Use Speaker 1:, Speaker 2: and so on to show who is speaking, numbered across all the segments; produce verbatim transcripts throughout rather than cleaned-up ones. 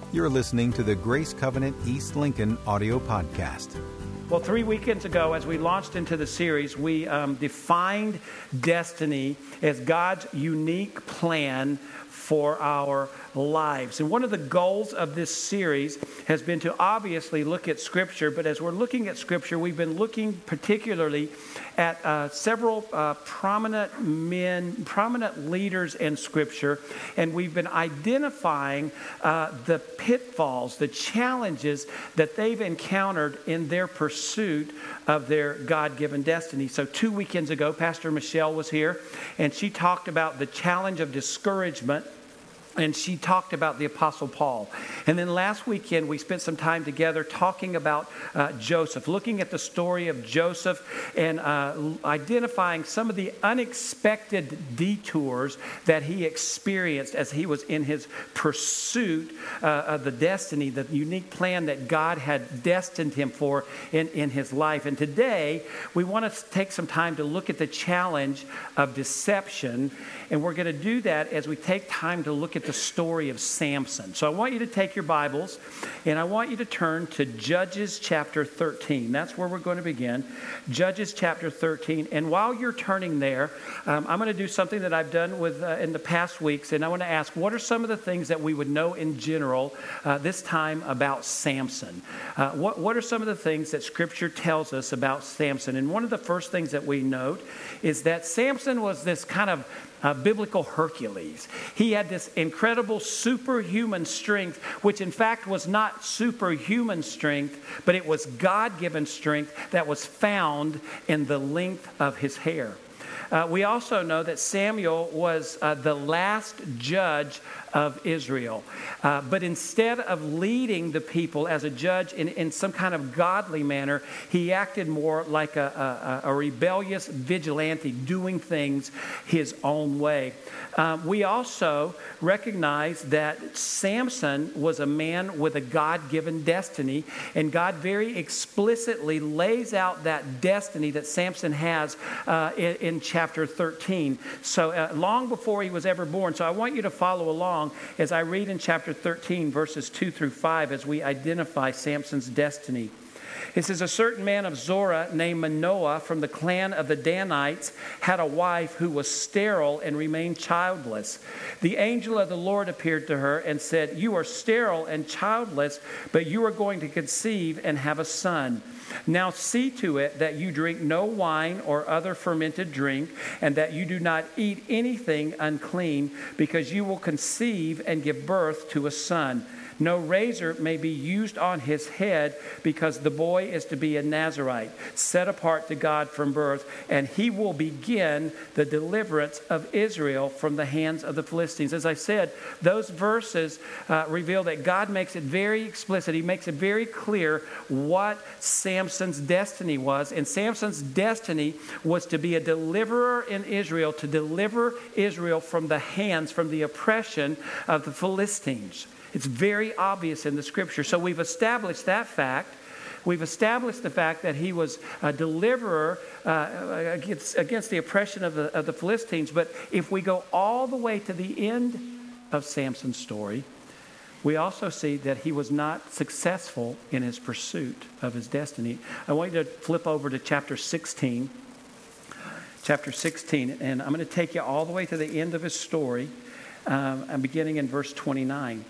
Speaker 1: You're listening to the Grace Covenant East Lincoln audio podcast.
Speaker 2: Well, three weekends ago, as we launched into the series, we um, defined destiny as God's unique plan for our lives. And one of the goals of this series has been to obviously look at Scripture, but as we're looking at Scripture, we've been looking particularly at uh, several uh, prominent men, prominent leaders in Scripture, and we've been identifying uh, the pitfalls, the challenges that they've encountered in their pursuit of their God-given destiny. So two weekends ago, Pastor Michelle was here, and she talked about the challenge of discouragement. And she talked about the Apostle Paul. And then last weekend, we spent some time together talking about uh, Joseph, looking at the story of Joseph and uh, identifying some of the unexpected detours that he experienced as he was in his pursuit uh, of the destiny, the unique plan that God had destined him for in, in his life. And today, we want to take some time to look at the challenge of deception. And we're going to do that as we take time to look at the story of Samson. So I want you to take your Bibles and I want you to turn to Judges chapter thirteen. That's where we're going to begin. Judges chapter thirteen. And while you're turning there, um, I'm going to do something that I've done with uh, in the past weeks. And I want to ask, what are some of the things that we would know in general uh, this time about Samson? Uh, what, what are some of the things that Scripture tells us about Samson? And one of the first things that we note is that Samson was this kind of Uh, biblical Hercules. He had this incredible superhuman strength, which in fact was not superhuman strength, but it was God-given strength that was found in the length of his hair. Uh, we also know that Samuel was uh, the last judge of Israel. Uh, but instead of leading the people as a judge in, in some kind of godly manner, he acted more like a, a, a rebellious vigilante, doing things his own way. Uh, we also recognize that Samson was a man with a God-given destiny, and God very explicitly lays out that destiny that Samson has uh, in, in chapter thirteen. So uh, long before he was ever born. So I want you to follow along as I read in chapter thirteen, verses two through five, as we identify Samson's destiny. It says, a certain man of Zorah named Manoah from the clan of the Danites had a wife who was sterile and remained childless. The angel of the Lord appeared to her and said, you are sterile and childless, but you are going to conceive and have a son. Now see to it that you drink no wine or other fermented drink, and that you do not eat anything unclean, because you will conceive and give birth to a son. No razor may be used on his head, because the boy is to be a Nazirite, set apart to God from birth, and he will begin the deliverance of Israel from the hands of the Philistines. As I said, those verses uh, reveal that God makes it very explicit. He makes it very clear what Samson's destiny was. And Samson's destiny was to be a deliverer in Israel, to deliver Israel from the hands, from the oppression of the Philistines. It's very obvious in the Scripture. So we've established that fact. We've established the fact that he was a deliverer uh, against, against the oppression of the, of the Philistines. But if we go all the way to the end of Samson's story, we also see that he was not successful in his pursuit of his destiny. I want you to flip over to chapter sixteen. Chapter sixteen. And I'm going to take you all the way to the end of his story. Um, I'm beginning in verse twenty-nine.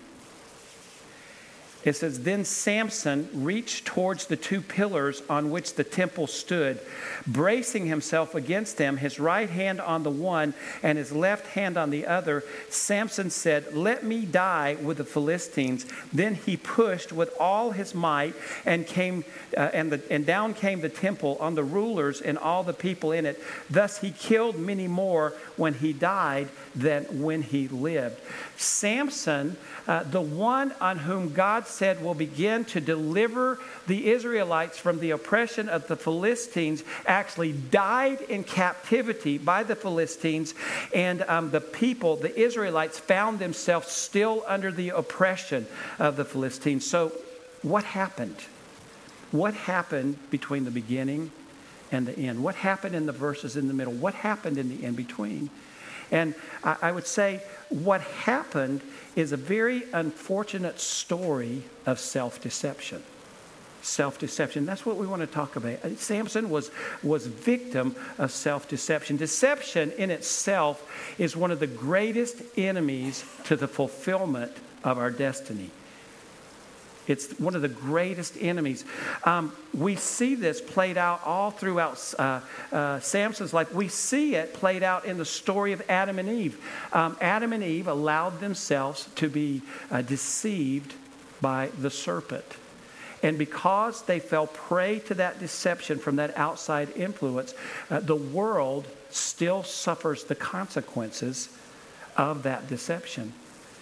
Speaker 2: It says, then Samson reached towards the two pillars on which the temple stood, bracing himself against them, his right hand on the one and his left hand on the other. Samson said, let me die with the Philistines. Then he pushed with all his might, and came uh, and, the, and down came the temple on the rulers and all the people in it. Thus he killed many more when he died than when he lived. Samson, uh, the one on whom God said will begin to deliver the Israelites from the oppression of the Philistines, actually died in captivity by the Philistines, and um, the people, the Israelites, found themselves still under the oppression of the Philistines. So what happened? What happened between the beginning and the end? What happened in the verses in the middle? What happened in the in between? And I, I would say what happened is a very unfortunate story of self-deception. Self-deception. That's what we want to talk about. Samson was, was victim of self-deception. Deception in itself is one of the greatest enemies to the fulfillment of our destiny. It's one of the greatest enemies. Um, we see this played out all throughout uh, uh, Samson's life. We see it played out in the story of Adam and Eve. Um, Adam and Eve allowed themselves to be uh, deceived by the serpent. And because they fell prey to that deception from that outside influence, uh, the world still suffers the consequences of that deception.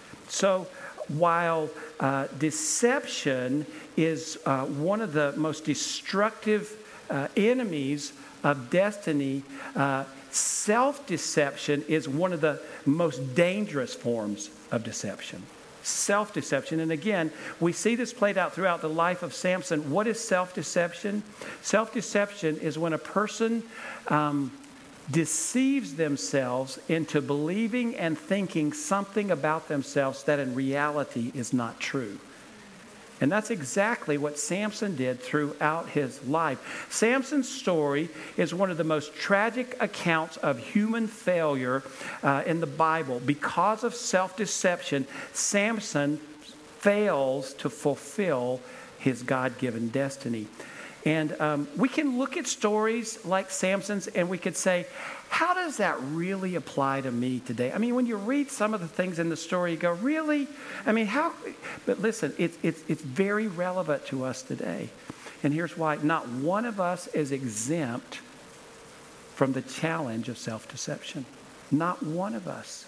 Speaker 2: So while uh, deception is uh, one of the most destructive uh, enemies of destiny, uh, self-deception is one of the most dangerous forms of deception. Self-deception. And again, we see this played out throughout the life of Samson. What is self-deception? Self-deception is when a person um, deceives themselves into believing and thinking something about themselves that in reality is not true. And that's exactly what Samson did throughout his life. Samson's story is one of the most tragic accounts of human failure uh, in the Bible. Because of self-deception, Samson fails to fulfill his God-given destiny. And um, we can look at stories like Samson's and we could say, how does that really apply to me today? I mean, when you read some of the things in the story, you go, really? I mean, how? But listen, it's, it's, it's very relevant to us today. And here's why. Not one of us is exempt from the challenge of self-deception. Not one of us.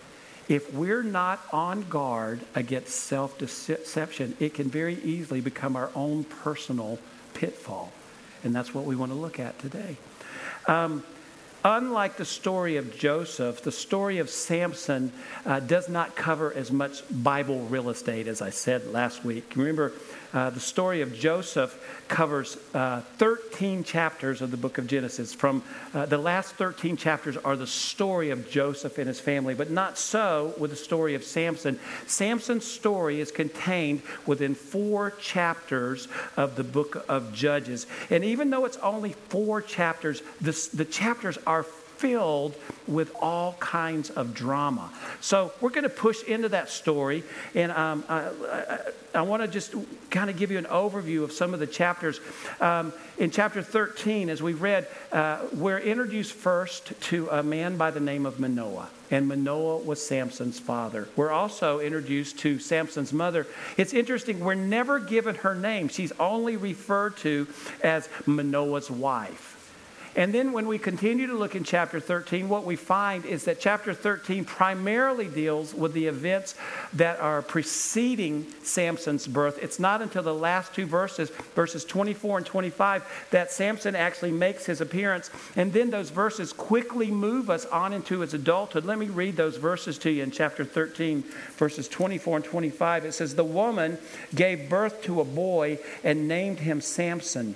Speaker 2: If we're not on guard against self-deception, it can very easily become our own personal pitfall. And that's what we want to look at today. Um, unlike the story of Joseph, the story of Samson uh, does not cover as much Bible real estate as I said last week. Remember, uh, the story of Joseph covers uh, thirteen chapters of the book of Genesis. From uh, the last thirteen chapters are the story of Joseph and his family, but not so with the story of Samson. Samson's story is contained within four chapters of the book of Judges. And even though it's only four chapters, the, the chapters are filled with all kinds of drama. So we're going to push into that story, and um, I, I, I want to just kind of give you an overview of some of the chapters. Um, in chapter thirteen, as we read, uh, we're introduced first to a man by the name of Manoah. And Manoah was Samson's father. We're also introduced to Samson's mother. It's interesting, we're never given her name. She's only referred to as Manoah's wife. And then when we continue to look in chapter thirteen, what we find is that chapter thirteen primarily deals with the events that are preceding Samson's birth. It's not until the last two verses, verses twenty-four and twenty-five, that Samson actually makes his appearance. And then those verses quickly move us on into his adulthood. Let me read those verses to you in chapter thirteen, verses twenty-four and twenty-five. It says, "The woman gave birth to a boy and named him Samson.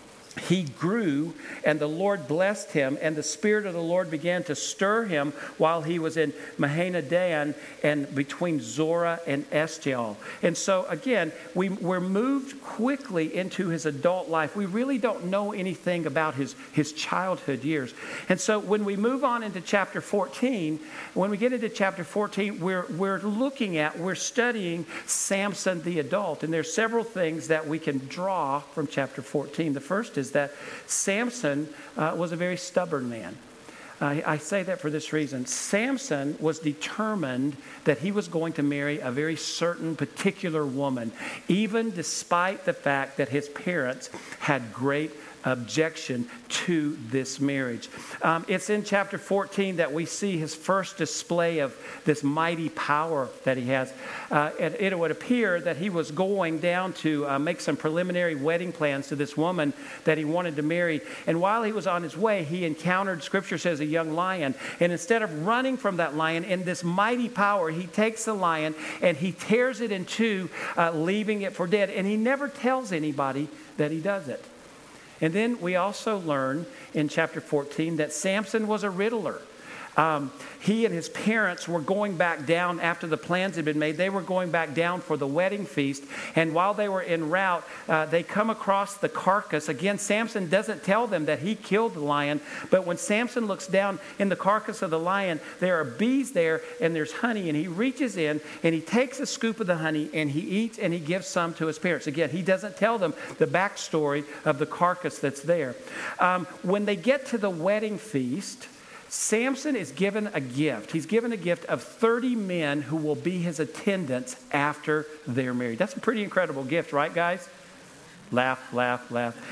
Speaker 2: He grew, and the Lord blessed him, and the Spirit of the Lord began to stir him while he was in Mahaneh-dan and between Zorah and Eshtaol." And so, again, we, we're moved quickly into his adult life. We really don't know anything about his, his childhood years. And so when we move on into chapter fourteen, when we get into chapter fourteen, we're, we're looking at, we're studying Samson the adult. And there's several things that we can draw from chapter fourteen. The first is is that Samson uh, was a very stubborn man. Uh, I say that for this reason. Samson was determined that he was going to marry a very certain particular woman, even despite the fact that his parents had great objection to this marriage. Um, it's in chapter fourteen that we see his first display of this mighty power that he has. Uh, and it would appear that he was going down to uh, make some preliminary wedding plans to this woman that he wanted to marry. And while he was on his way, he encountered, Scripture says, a young lion. And instead of running from that lion in this mighty power, he takes the lion and he tears it in two, uh, leaving it for dead. And he never tells anybody that he does it. And then we also learn in chapter fourteen that Samson was a riddler. Um, he and his parents were going back down after the plans had been made. They were going back down for the wedding feast. And while they were en route, uh, they come across the carcass. Again, Samson doesn't tell them that he killed the lion. But when Samson looks down in the carcass of the lion, there are bees there and there's honey. And he reaches in and he takes a scoop of the honey and he eats and he gives some to his parents. Again, he doesn't tell them the backstory of the carcass that's there. Um, when they get to the wedding feast, Samson is given a gift. He's given a gift of thirty men who will be his attendants after they're married. That's a pretty incredible gift, right, guys? Laugh, laugh,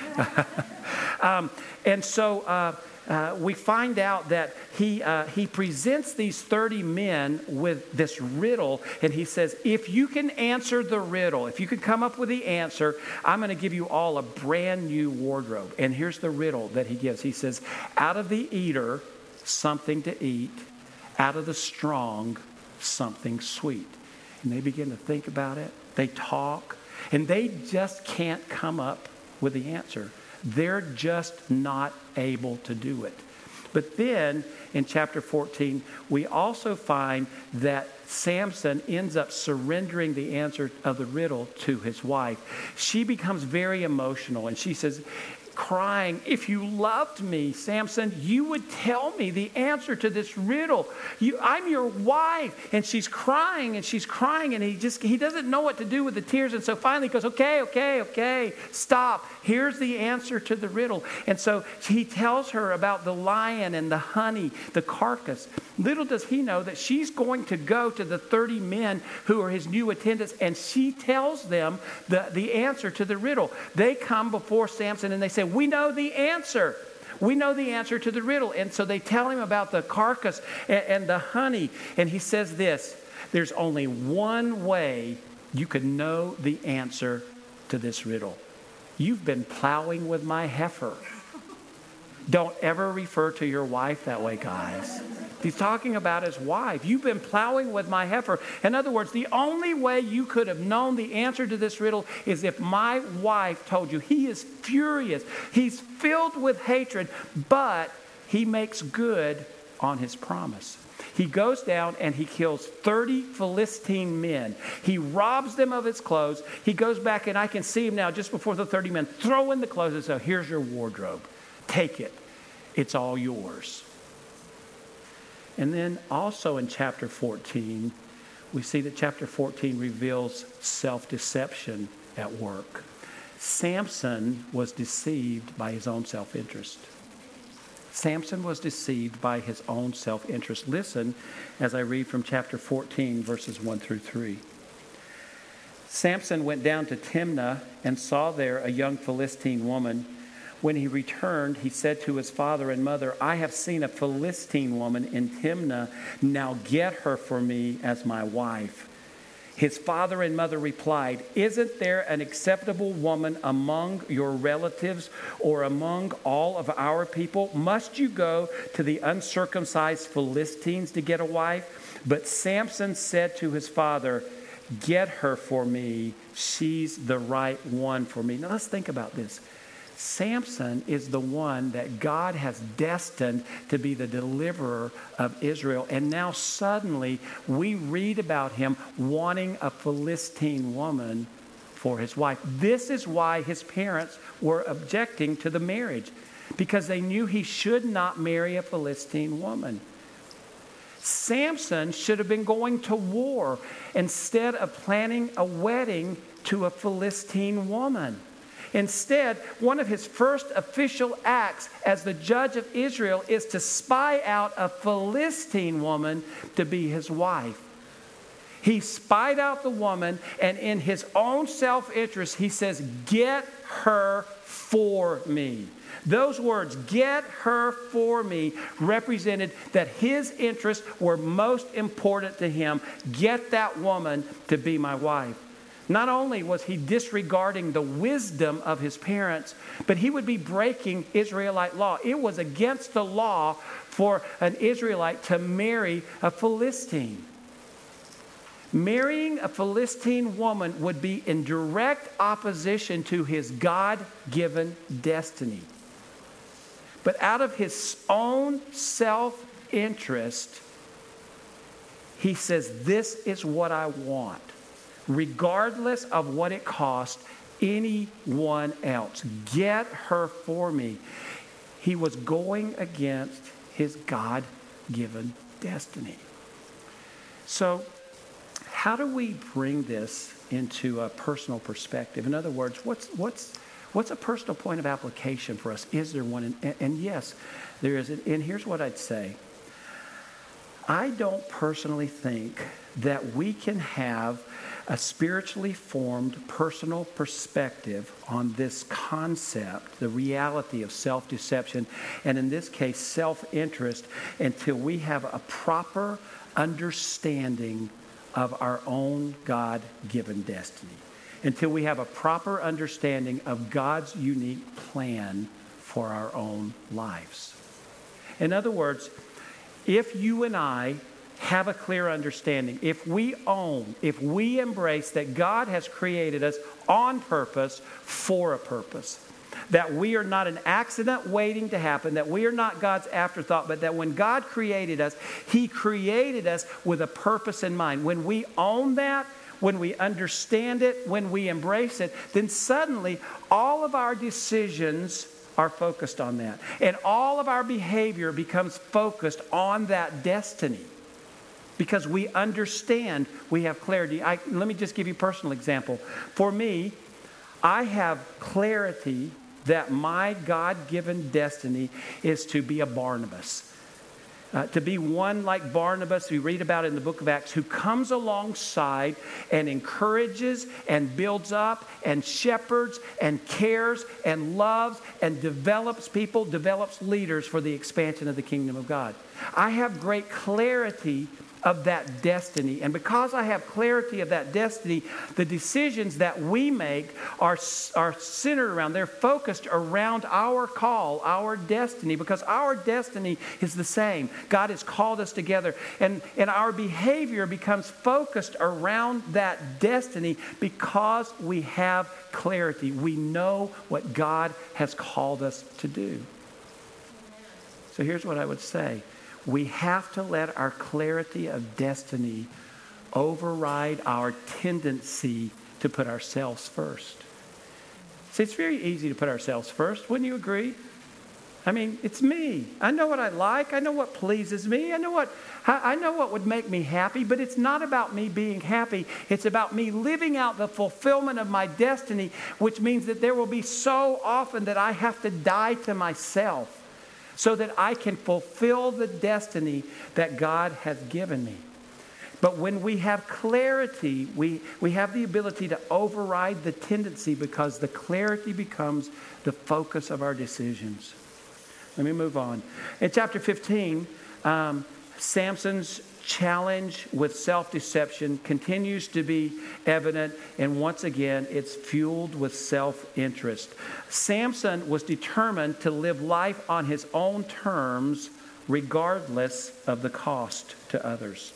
Speaker 2: laugh. um, and so uh, uh, we find out that he uh, he presents these thirty men with this riddle, and he says, if you can answer the riddle, if you can come up with the answer, I'm going to give you all a brand new wardrobe. And here's the riddle that he gives. He says, out of the eater, something to eat, out of the strong, something sweet. And they begin to think about it. They talk, and they just can't come up with the answer. They're just not able to do it. But then in chapter fourteen, we also find that Samson ends up surrendering the answer of the riddle to his wife. She becomes very emotional, and she says, crying, if you loved me, Samson, you would tell me the answer to this riddle. You, I'm your wife. And she's crying and she's crying and he just, he doesn't know what to do with the tears. And so finally he goes, okay, okay, okay, stop. Here's the answer to the riddle. And so he tells her about the lion and the honey, the carcass. Little does he know that she's going to go to the thirty men who are his new attendants, and she tells them the, the answer to the riddle. They come before Samson and they say, we know the answer. We know the answer to the riddle. And so they tell him about the carcass and, and the honey. And he says this, there's only one way you can know the answer to this riddle. You've been plowing with my heifer. Don't ever refer to your wife that way, guys. He's talking about his wife. You've been plowing with my heifer. In other words, the only way you could have known the answer to this riddle is if my wife told you. He is furious. He's filled with hatred, but he makes good on his promise. He goes down and he kills thirty Philistine men. He robs them of his clothes. He goes back, and I can see him now just before the thirty men throw in the clothes and say, here's your wardrobe. Take it. It's all yours. And then also in chapter fourteen, we see that chapter fourteen reveals self-deception at work. Samson was deceived by his own self-interest. Samson was deceived by his own self-interest. Listen as I read from chapter fourteen, verses one through three. Samson went down to Timnah and saw there a young Philistine woman. When he returned, he said to his father and mother, I have seen a Philistine woman in Timnah. Now get her for me as my wife. His father and mother replied, isn't there an acceptable woman among your relatives or among all of our people? Must you go to the uncircumcised Philistines to get a wife? But Samson said to his father, get her for me. She's the right one for me. Now let's think about this. Samson is the one that God has destined to be the deliverer of Israel. And now suddenly we read about him wanting a Philistine woman for his wife. This is why his parents were objecting to the marriage, because they knew he should not marry a Philistine woman. Samson should have been going to war instead of planning a wedding to a Philistine woman. Instead, one of his first official acts as the judge of Israel is to spy out a Philistine woman to be his wife. He spied out the woman, and in his own self-interest, he says, get her for me. Those words, get her for me, represented that his interests were most important to him. Get that woman to be my wife. Not only was he disregarding the wisdom of his parents, but he would be breaking Israelite law. It was against the law for an Israelite to marry a Philistine. Marrying a Philistine woman would be in direct opposition to his God-given destiny. But out of his own self self-interest, he says, this is what I want, regardless of what it costs anyone else. Get her for me. He was going against his God-given destiny. So, how do we bring this into a personal perspective? In other words, what's what's what's a personal point of application for us? Is there one? And, and yes, there is. And here's what I'd say. I don't personally think that we can have a spiritually formed personal perspective on this concept, the reality of self-deception, and in this case, self-interest, until we have a proper understanding of our own God-given destiny, until we have a proper understanding of God's unique plan for our own lives. In other words, if you and I have a clear understanding, if we own, if we embrace that God has created us on purpose for a purpose, that we are not an accident waiting to happen, that we are not God's afterthought, but that when God created us, He created us with a purpose in mind. When we own that, when we understand it, when we embrace it, then suddenly all of our decisions are focused on that. And all of our behavior becomes focused on that destiny. Because we understand, we have clarity. I, let me just give you a personal example. For me, I have clarity that my God-given destiny is to be a Barnabas. Uh, to be one like Barnabas, we read about in the book of Acts, who comes alongside and encourages and builds up and shepherds and cares and loves and develops people, develops leaders for the expansion of the kingdom of God. I have great clarity of that destiny. And because I have clarity of that destiny, the decisions that we make are, are centered around, they're focused around our call, our destiny, because our destiny is the same. God has called us together, and, and our behavior becomes focused around that destiny because we have clarity. We know what God has called us to do. So here's what I would say. We have to let our clarity of destiny override our tendency to put ourselves first. See, it's very easy to put ourselves first. Wouldn't you agree? I mean, it's me. I know what I like. I know what pleases me. I know what I know what would make me happy, but it's not about me being happy. It's about me living out the fulfillment of my destiny, which means that there will be so often that I have to die to myself so that I can fulfill the destiny that God has given me. But when we have clarity, we, we have the ability to override the tendency because the clarity becomes the focus of our decisions. Let me move on. In chapter fifteen, um, Samson's challenge with self-deception continues to be evident, and once again, it's fueled with self-interest. Samson was determined to live life on his own terms, regardless of the cost to others.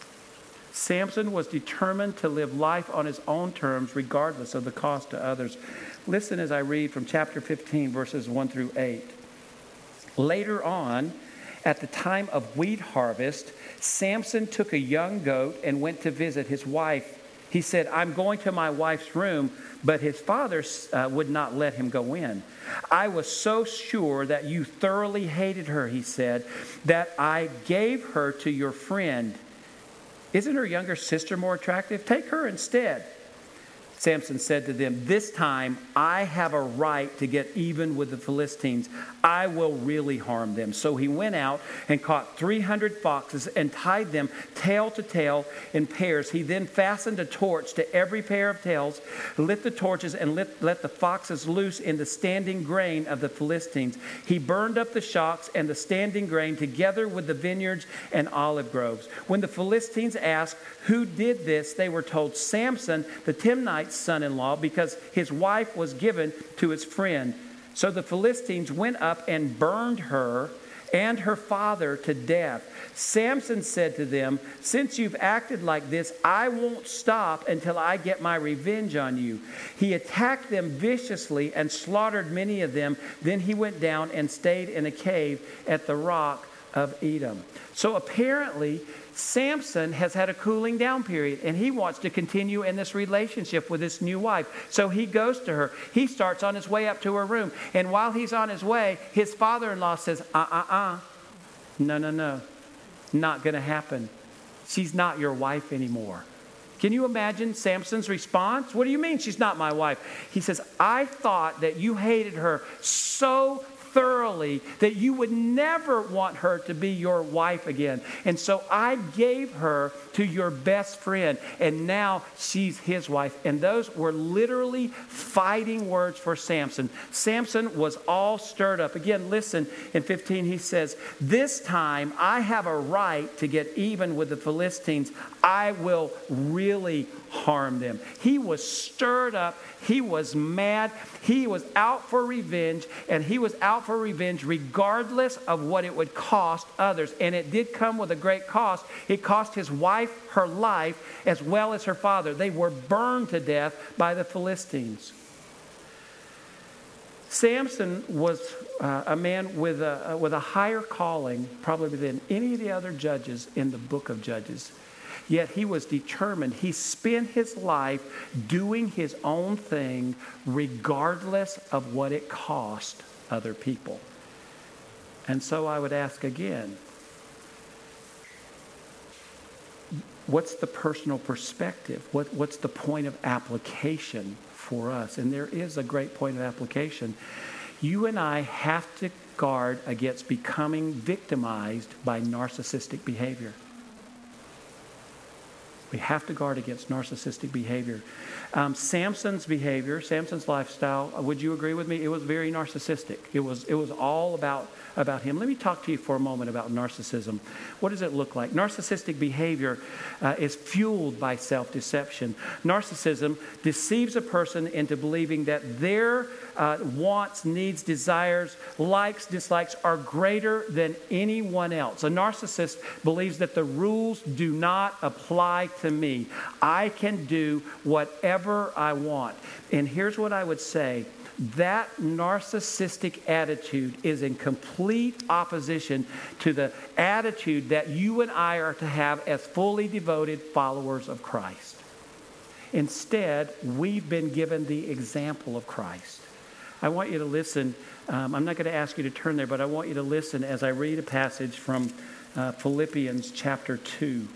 Speaker 2: Samson was determined to live life on his own terms, regardless of the cost to others. Listen as I read from chapter fifteen, verses one through eight. Later on, at the time of wheat harvest, Samson took a young goat and went to visit his wife. He said, "I'm going to my wife's room," but his father uh, would not let him go in. "I was so sure that you thoroughly hated her," he said, "that I gave her to your friend. Isn't her younger sister more attractive? Take her instead." Samson said to them, "This time I have a right to get even with the Philistines. I will really harm them." So he went out and caught three hundred foxes and tied them tail to tail in pairs. He then fastened a torch to every pair of tails, lit the torches, and lit, let the foxes loose in the standing grain of the Philistines. He burned up the shocks and the standing grain together with the vineyards and olive groves. When the Philistines asked who did this, they were told, "Samson, the Timnite son-in-law, because his wife was given to his friend." So the Philistines went up and burned her and her father to death. Samson said to them, "Since you've acted like this, I won't stop until I get my revenge on you." He attacked them viciously and slaughtered many of them. Then he went down and stayed in a cave at the rock of Edom. So apparently, Samson has had a cooling down period, and he wants to continue in this relationship with this new wife. So he goes to her. He starts on his way up to her room. And while he's on his way, his father-in-law says, uh-uh-uh. No, no, no. Not going to happen. She's not your wife anymore. Can you imagine Samson's response? What do you mean she's not my wife? He says, I thought that you hated her so thoroughly that you would never want her to be your wife again. And so I gave her to your best friend, and now she's his wife. And those were literally fighting words for Samson. Samson was all stirred up. Again, listen, in fifteen he says, this time I have a right to get even with the Philistines. I will really harm them. He was stirred up. He was mad. He was out for revenge, and he was out for revenge regardless of what it would cost others. And it did come with a great cost. It cost his wife her life as well as her father. They were burned to death by the Philistines. Samson was uh, a man with a, uh, with a higher calling probably than any of the other judges in the book of Judges. Yet he was determined. He spent his life doing his own thing regardless of what it cost other people. And so I would ask again, what's the personal perspective? What, what's the point of application for us? And there is a great point of application. You and I have to guard against becoming victimized by narcissistic behavior. We have to guard against narcissistic behavior. Um, Samson's behavior, Samson's lifestyle, would you agree with me? It was very narcissistic. It was, it was all about, about him. Let me talk to you for a moment about narcissism. What does it look like? Narcissistic behavior uh, is fueled by self-deception. Narcissism deceives a person into believing that their uh, wants, needs, desires, likes, dislikes are greater than anyone else. A narcissist believes that the rules do not apply to me. I can do whatever I want. And here's what I would say. That narcissistic attitude is in complete opposition to the attitude that you and I are to have as fully devoted followers of Christ. Instead, we've been given the example of Christ. I want you to listen. Um, I'm not going to ask you to turn there, but I want you to listen as I read a passage from uh, Philippians chapter two.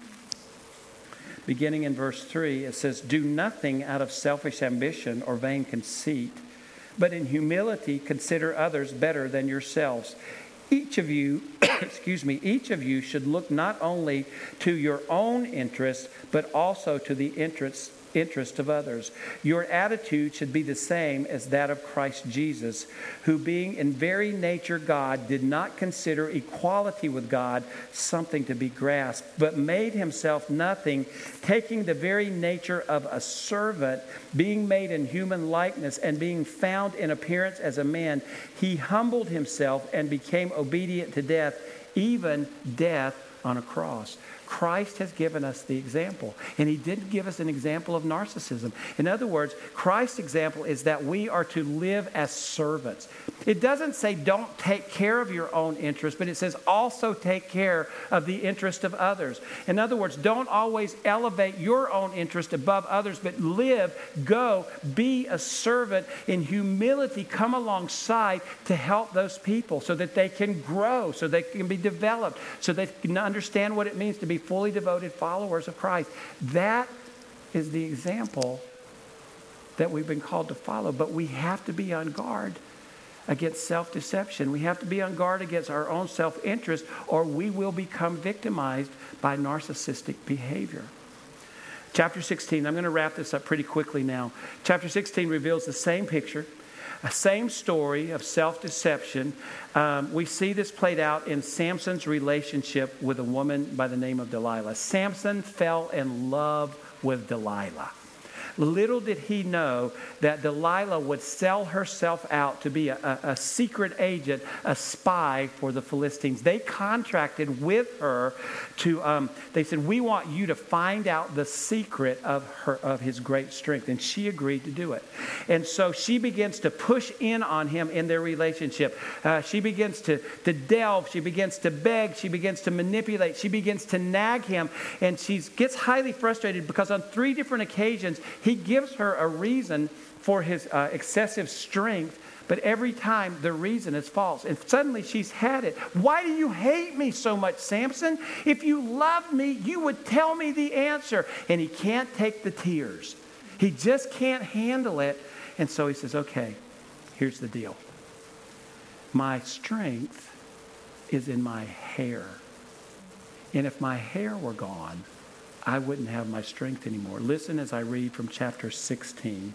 Speaker 2: Beginning in verse three, it says, do nothing out of selfish ambition or vain conceit, but in humility consider others better than yourselves. Each of you, excuse me, each of you should look not only to your own interests, but also to the interests interest of others. Your attitude should be the same as that of Christ Jesus, who being in very nature God, did not consider equality with God something to be grasped, but made himself nothing, taking the very nature of a servant, being made in human likeness, and being found in appearance as a man, he humbled himself and became obedient to death, even death on a cross. Christ has given us the example, and he didn't give us an example of narcissism. In other words, Christ's example is that we are to live as servants. It doesn't say don't take care of your own interests, but it says also take care of the interest of others. In other words, don't always elevate your own interest above others, but live, go, be a servant in humility. Come alongside to help those people so that they can grow, so they can be developed, so they can understand what it means to be fully devoted followers of Christ. That is the example that we've been called to follow. But we have to be on guard against self-deception. We have to be on guard against our own self-interest, or we will become victimized by narcissistic behavior. Chapter sixteen, I'm going to wrap this up pretty quickly now. Chapter sixteen reveals the same picture, a same story of self-deception. Um, we see this played out in Samson's relationship with a woman by the name of Delilah. Samson fell in love with Delilah. Little did he know that Delilah would sell herself out to be a, a, a secret agent, a spy for the Philistines. They contracted with her to, um, they said, we want you to find out the secret of her of his great strength. And she agreed to do it. And so she begins to push in on him in their relationship. Uh, she begins to, to delve. She begins to beg. She begins to manipulate. She begins to nag him. And she gets highly frustrated because on three different occasions, he gives her a reason for his uh, excessive strength, but every time the reason is false. And suddenly she's had it. Why do you hate me so much, Samson? If you loved me, you would tell me the answer. And he can't take the tears. He just can't handle it. And so he says, okay, here's the deal. My strength is in my hair. And if my hair were gone, I wouldn't have my strength anymore. Listen as I read from chapter sixteen.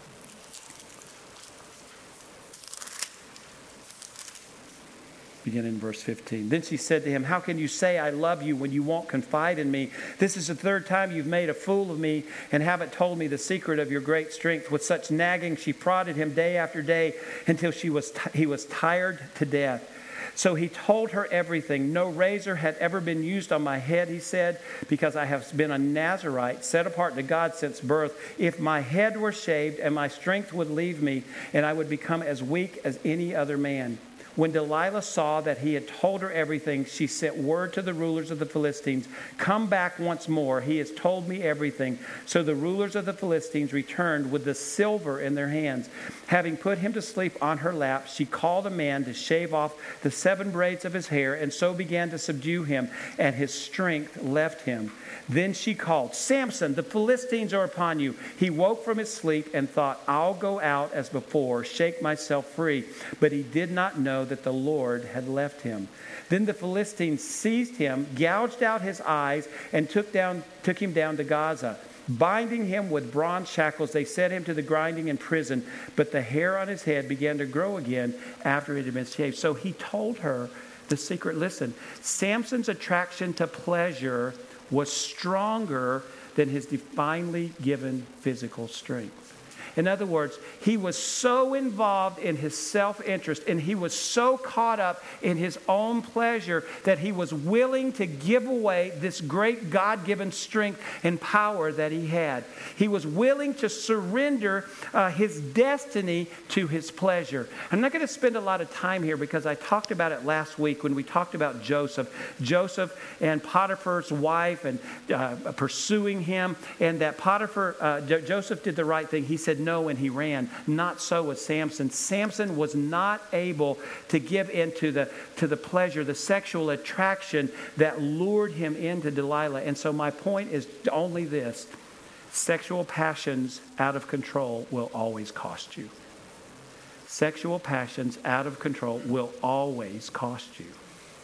Speaker 2: Begin in verse fifteen. Then she said to him, how can you say I love you when you won't confide in me? This is the third time you've made a fool of me and haven't told me the secret of your great strength. With such nagging, she prodded him day after day until she was t- he was tired to death. So he told her everything. No razor had ever been used on my head, he said, because I have been a Nazirite, set apart to God since birth. If my head were shaved and my strength would leave me, and I would become as weak as any other man. When Delilah saw that he had told her everything, she sent word to the rulers of the Philistines, come back once more. He has told me everything. So the rulers of the Philistines returned with the silver in their hands. Having put him to sleep on her lap, she called a man to shave off the seven braids of his hair, and so began to subdue him, and his strength left him. Then she called, Samson, the Philistines are upon you. He woke from his sleep and thought, I'll go out as before, shake myself free. But he did not know that the Lord had left him. Then the Philistines seized him, gouged out his eyes, and took down took him down to Gaza. Binding him with bronze shackles, they set him to the grinding in prison. But the hair on his head began to grow again after it had been shaved. So he told her the secret. Listen, Samson's attraction to pleasure was stronger than his divinely given physical strength. In other words, he was so involved in his self-interest and he was so caught up in his own pleasure that he was willing to give away this great God-given strength and power that he had. He was willing to surrender uh, his destiny to his pleasure. I'm not going to spend a lot of time here because I talked about it last week when we talked about Joseph. Joseph and Potiphar's wife and uh, pursuing him, and that Potiphar, uh, J- Joseph did the right thing. He said no and he ran. Not so with Samson. Samson was not able to give in to the, to the pleasure, the sexual attraction that lured him into Delilah. And so my point is only this. Sexual passions out of control will always cost you. Sexual passions out of control will always cost you.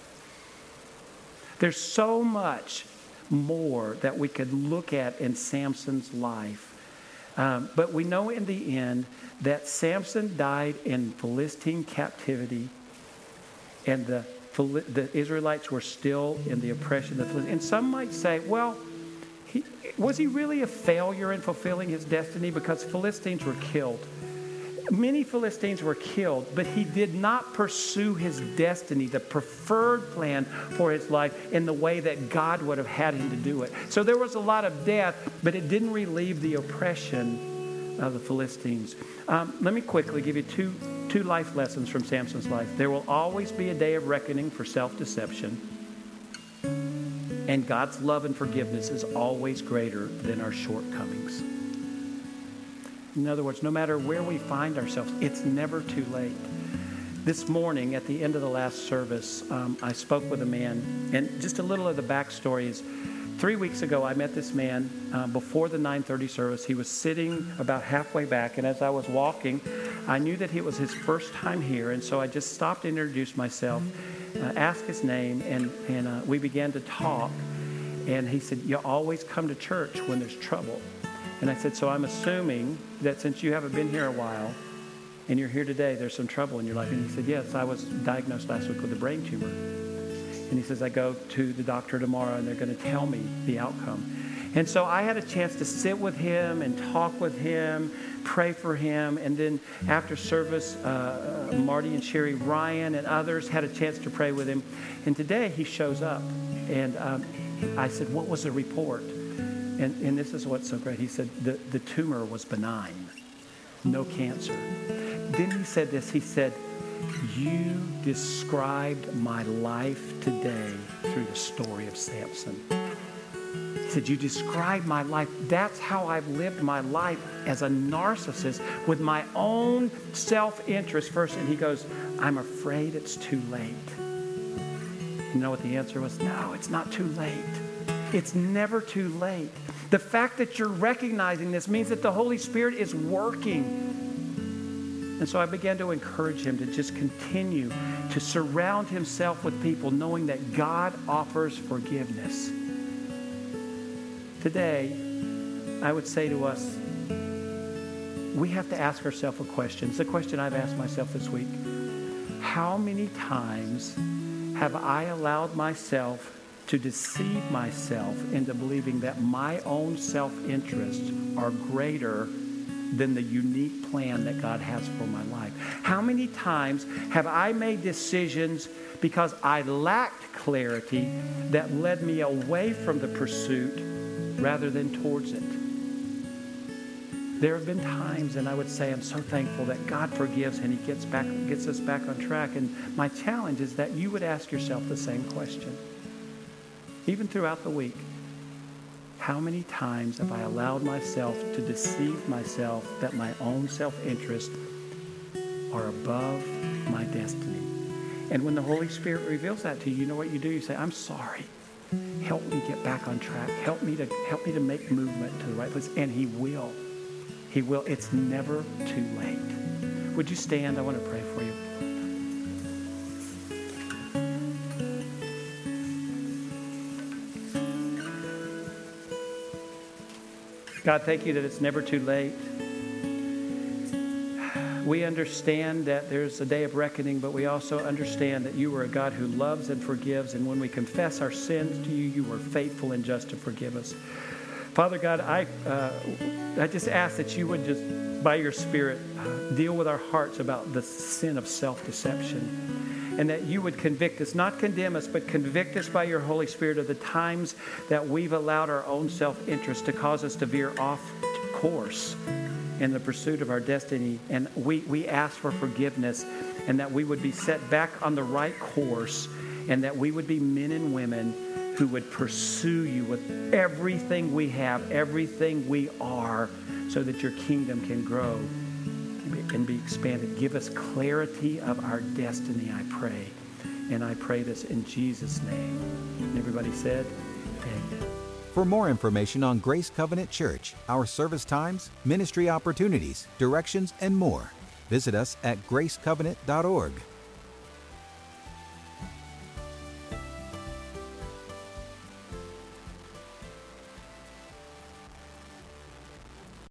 Speaker 2: There's so much more that we could look at in Samson's life. Um, but we know in the end that Samson died in Philistine captivity, and the, the Israelites were still in the oppression of the Philistines. And some might say, well, he, was he really a failure in fulfilling his destiny? Because Philistines were killed. Many Philistines were killed, but he did not pursue his destiny, the preferred plan for his life, in the way that God would have had him to do it. So there was a lot of death, but it didn't relieve the oppression of the Philistines. Um, let me quickly give you two, two life lessons from Samson's life. There will always be a day of reckoning for self-deception, and God's love and forgiveness is always greater than our shortcomings. In other words, no matter where we find ourselves, it's never too late. This morning, at the end of the last service, um, I spoke with a man, and just a little of the backstory is, three weeks ago, I met this man uh, before the nine thirty service. He was sitting about halfway back, and as I was walking, I knew that it was his first time here, and so I just stopped and introduced myself, uh, asked his name, and, and uh, we began to talk. And he said, you always come to church when there's trouble. And I said, so I'm assuming that since you haven't been here a while and you're here today, there's some trouble in your life. And he said, yes, I was diagnosed last week with a brain tumor. And he says, I go to the doctor tomorrow and they're going to tell me the outcome. And so I had a chance to sit with him and talk with him, pray for him. And then after service, uh, Marty and Sherry Ryan and others had a chance to pray with him. And today he shows up. And um, I said, what was the report? And, and this is what's so great. He said, the, the tumor was benign, no cancer. Then he said this, he said, you described my life today through the story of Samson. He said, you described my life. That's how I've lived my life as a narcissist with my own self-interest first. And he goes, I'm afraid it's too late. You know what the answer was? No, it's not too late. It's never too late. The fact that you're recognizing this means that the Holy Spirit is working. And so I began to encourage him to just continue to surround himself with people knowing that God offers forgiveness. Today, I would say to us, we have to ask ourselves a question. It's a question I've asked myself this week. How many times have I allowed myself to deceive myself into believing that my own self-interests are greater than the unique plan that God has for my life? How many times have I made decisions because I lacked clarity that led me away from the pursuit rather than towards it? There have been times, and I would say I'm so thankful that God forgives and he gets back, gets us back on track. And my challenge is that you would ask yourself the same question. Even throughout the week, how many times have I allowed myself to deceive myself that my own self-interest are above my destiny? And when the Holy Spirit reveals that to you, you know what you do? You say, I'm sorry. Help me get back on track. Help me to help me to make movement to the right place. And he will. He will. It's never too late. Would you stand? I want to pray for you. God, thank you that it's never too late. We understand that there's a day of reckoning, but we also understand that you are a God who loves and forgives. And when we confess our sins to you, you are faithful and just to forgive us. Father God, I uh, I just ask that you would just, by your Spirit, uh, deal with our hearts about the sin of self-deception. And that you would convict us, not condemn us, but convict us by your Holy Spirit of the times that we've allowed our own self-interest to cause us to veer off course in the pursuit of our destiny. And we, we ask for forgiveness, and that we would be set back on the right course, and that we would be men and women who would pursue you with everything we have, everything we are, so that your kingdom can grow and be expanded. Give us clarity of our destiny, I pray. And I pray this in Jesus' name. And everybody said, amen.
Speaker 1: For more information on Grace Covenant Church, our service times, ministry opportunities, directions, and more, visit us at grace covenant dot org.